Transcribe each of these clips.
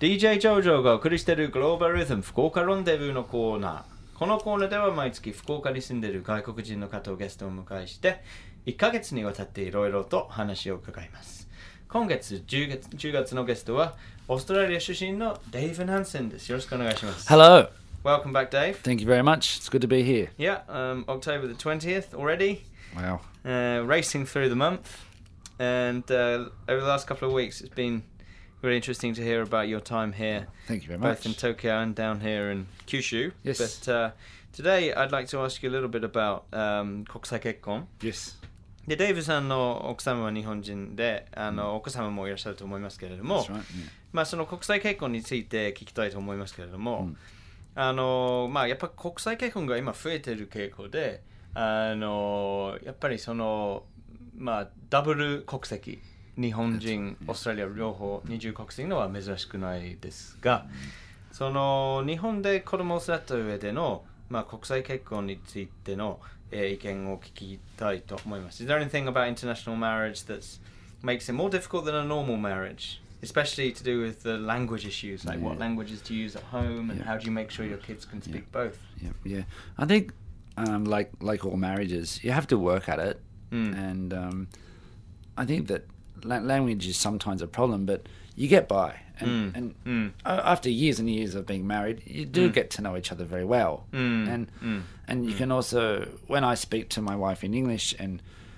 DJ ジョージョがお送りしているグローバルリズム福岡ロンデブーのコーナー。このコーナーでは毎月福岡に住んでいる外国人の方をゲストを迎えして1ヶ月にわたっていろいろと話を伺います。今月10月のゲストはオーストラリア出身のデイブ・ナンセンです。よろしくお願いします。 Hello. Welcome back, Dave. Thank you very much. It's good to be here. Yeah, October the 20th already. Wow. Racing through the month. And over the last couple of weeks, it's been really interesting to hear about your time here. Thank you very both much. in Tokyo and down here in Kyushu. Yes. But today, I'd like to ask you a little bit about 国際結婚。 Yes. で、デイブさんの奥様は日本人で、お子様もいらっしゃると思いますけれども、 That's right. Yeah. まあその国際結婚について聞きたいと思いますけれども、まあやっぱ国際結婚が今増えている傾向で、やっぱりそのまあダブル国籍、日本人、オーストラリア両方二重国籍のは珍しくないですが、その日本で子供を育った上でのまあ国際結婚についての意見を聞きたいと思います。Is there anything about international marriage that makes it more difficult than a normal marriage, especially to do with the language issues, like what languages to use at home and how do you make sure your kids can speak both? Yeah. I think, like all marriages, you have to work at it, and I think that language is sometimes a problem, but you get by. And after years and years of being married, you do get to know each other very well. And you can also, when I speak to my wife in English, and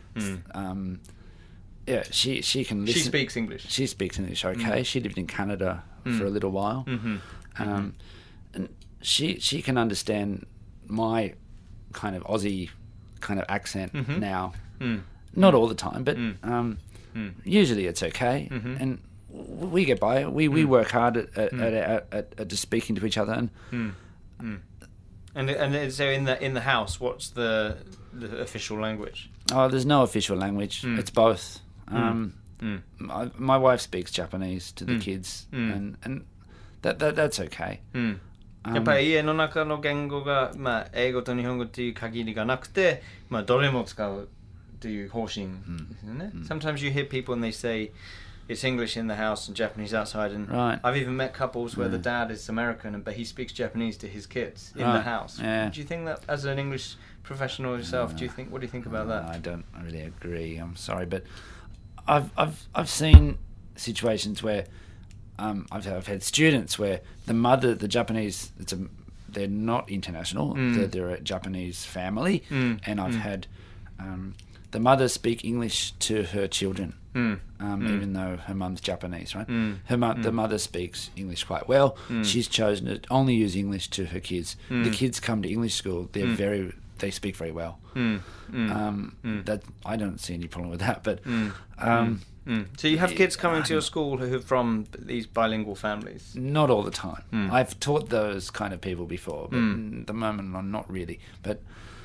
she can listen. She speaks English. She speaks English, okay. She lived in Canada for a little while. And she can understand my kind of Aussie kind of accent now. Not all the time, but usually it's okay. And we get by. We work hard at just speaking to each other. And so in the house, what's the official language? Oh, there's no official language. It's both. My wife speaks Japanese to the kids, and that's okay. やっぱり家の中の言語が、まあ、英語と日本語っていう限りがなくて、まあ、どれも使うという方針ですよね。Sometimes you hear people and they say it's English in the house and Japanese outside, and I've even met couples where the dad is American but he speaks Japanese to his kids in the house. Do you think that, as an English professional yourself, what do you think about that? I don't really agree. I'm sorry, but I've seen situations where I've had students where the Japanese, they're not international. They're a Japanese family, and I've had the mother speak English to her children, even though her mum's Japanese, right? The mother speaks English quite well. She's chosen to only use English to her kids. The kids come to English school. They speak very well. That I don't see any problem with that. But so you have kids coming to your school who are from these bilingual families? Not all the time. I've taught those kind of people before, but at the moment I'm not really. But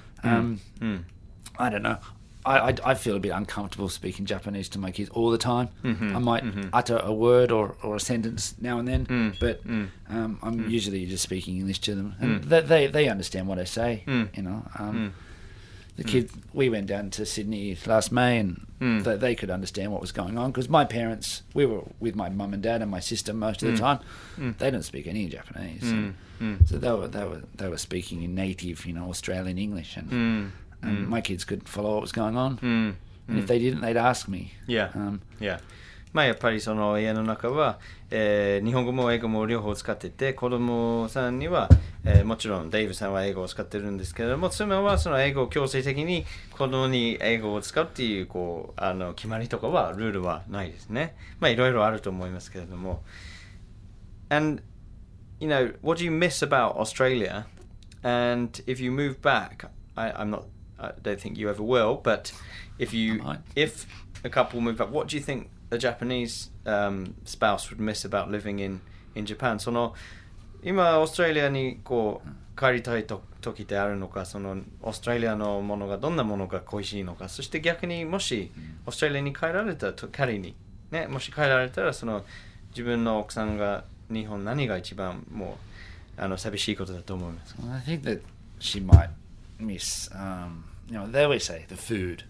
I don't know. I feel a bit uncomfortable speaking Japanese to my kids all the time. I might utter a word or a sentence now and then, but I'm usually just speaking English to them, and they understand what I say. You know, the kids. We went down to Sydney last May, and they could understand what was going on because my parents. We were with my mum and dad and my sister most of the time. They don't speak any Japanese, so they were speaking in native, Australian English, and my kids could follow what was going on. And if they didn't, they'd ask me. Yeah. まあやっぱりその家の中は、日本語も英語も両方使ってて、子供さんには、もちろんデイブさんは英語を使ってるんですけれども、妻はその英語を強制的に子供に英語を使うっていう決まりとかはルールはないですね。まあいろいろあると思いますけれども。And what do you miss about Australia? And if you move back, I don't think you ever will, but if a couple move back, what do you think a Japanese spouse would miss about living in Japan? その今オーストラリアに帰りたい時ってあるのか、そのオーストラリアのものがどんなものが恋しいのか、そして逆にもしオーストラリアに帰られたと仮にね、もし帰られたらその自分の奥さんが日本何が一番もう寂しいことだと思いますか？ I think that she might miss, they always say the food,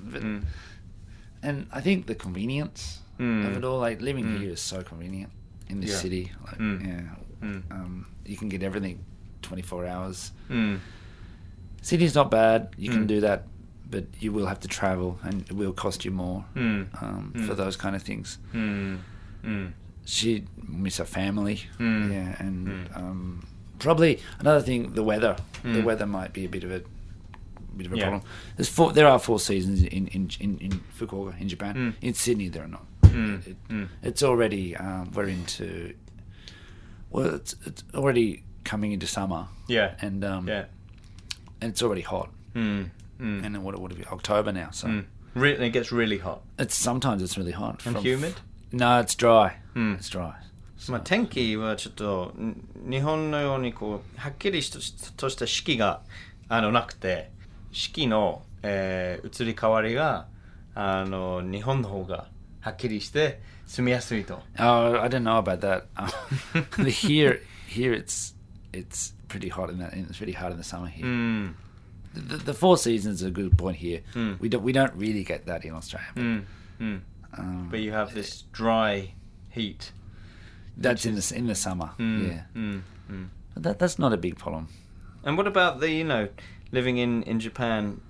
and I think the convenience of it all. Like living here is so convenient, in the city. Like, you can get everything 24 hours. City's not bad. You can do that, but you will have to travel, and it will cost you more for those kind of things. She miss her family, and probably another thing, the weather. The weather might be a bit of a problem. There are 4 seasons in Fukuoka, in Japan. In Sydney, there are not. It's already we're into. Well, it's already coming into summer. And it's already hot. And then what would it be? October now. So it gets really hot. Sometimes it's really hot. And humid? No, it's dry. It's dry. まあ天気はちょっと日本のようにこうはっきりとした四季がなくて、四季の、移り変わりが日本の方がはっきりして住みやすいと。 Oh, I don't know about that. Here it's pretty hot in that. It's really hot in the summer here. The 4 seasons are a good point here. We don't really get that in Australia. But you have this dry heat. That's in the summer. But that's not a big problem. And what about the living in Japan?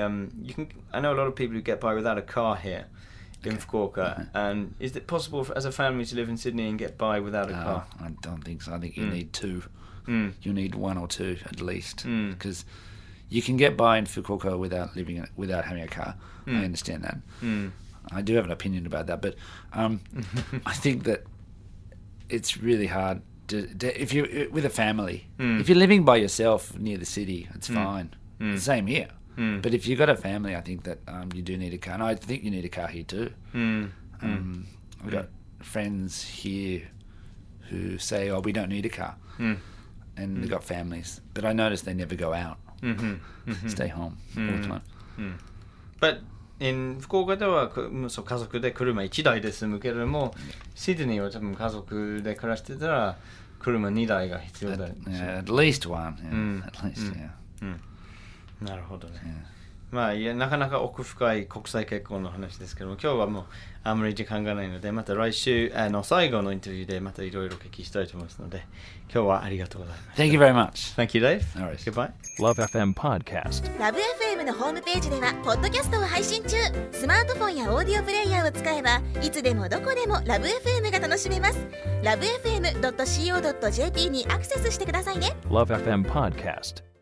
I know a lot of people who get by without a car here in Fukuoka. And is it possible as a family to live in Sydney and get by without a car? I don't think so. I think you need 2. You need 1 or 2 at least, because you can get by in Fukuoka without having a car. I understand that. I do have an opinion about that, but I think that it's really hard to if you're with a family. If you're living by yourself near the city, it's fine. Same here. But if you've got a family, I think that you do need a car, and I think you need a car here too. I've got friends here who say, "Oh, we don't need a car," and they've got families. But I notice they never go out. Stay home all the time. But in 福岡では家族で車1台で済むけれども、シドニーは多分家族で暮らしてたら車2台が必要だ。 At least one. At least, yeah. なるほどね。まあなかなか奥深い国際結婚の話ですけども、今日はもうあんまり時間がないので、また来週最後のインタビューでまたいろいろお聞きしたいと思いますので、今日はありがとうございます。 Thank you very much. Thank you, Dave. All right. Goodbye. Love FM Podcast. Love FM のホームページではポッドキャストを配信中。スマートフォンやオーディオプレイヤーを使えばいつでもどこでもラブ FM が楽しめます。LoveFM.co.jp にアクセスしてくださいね。 Love FM Podcast.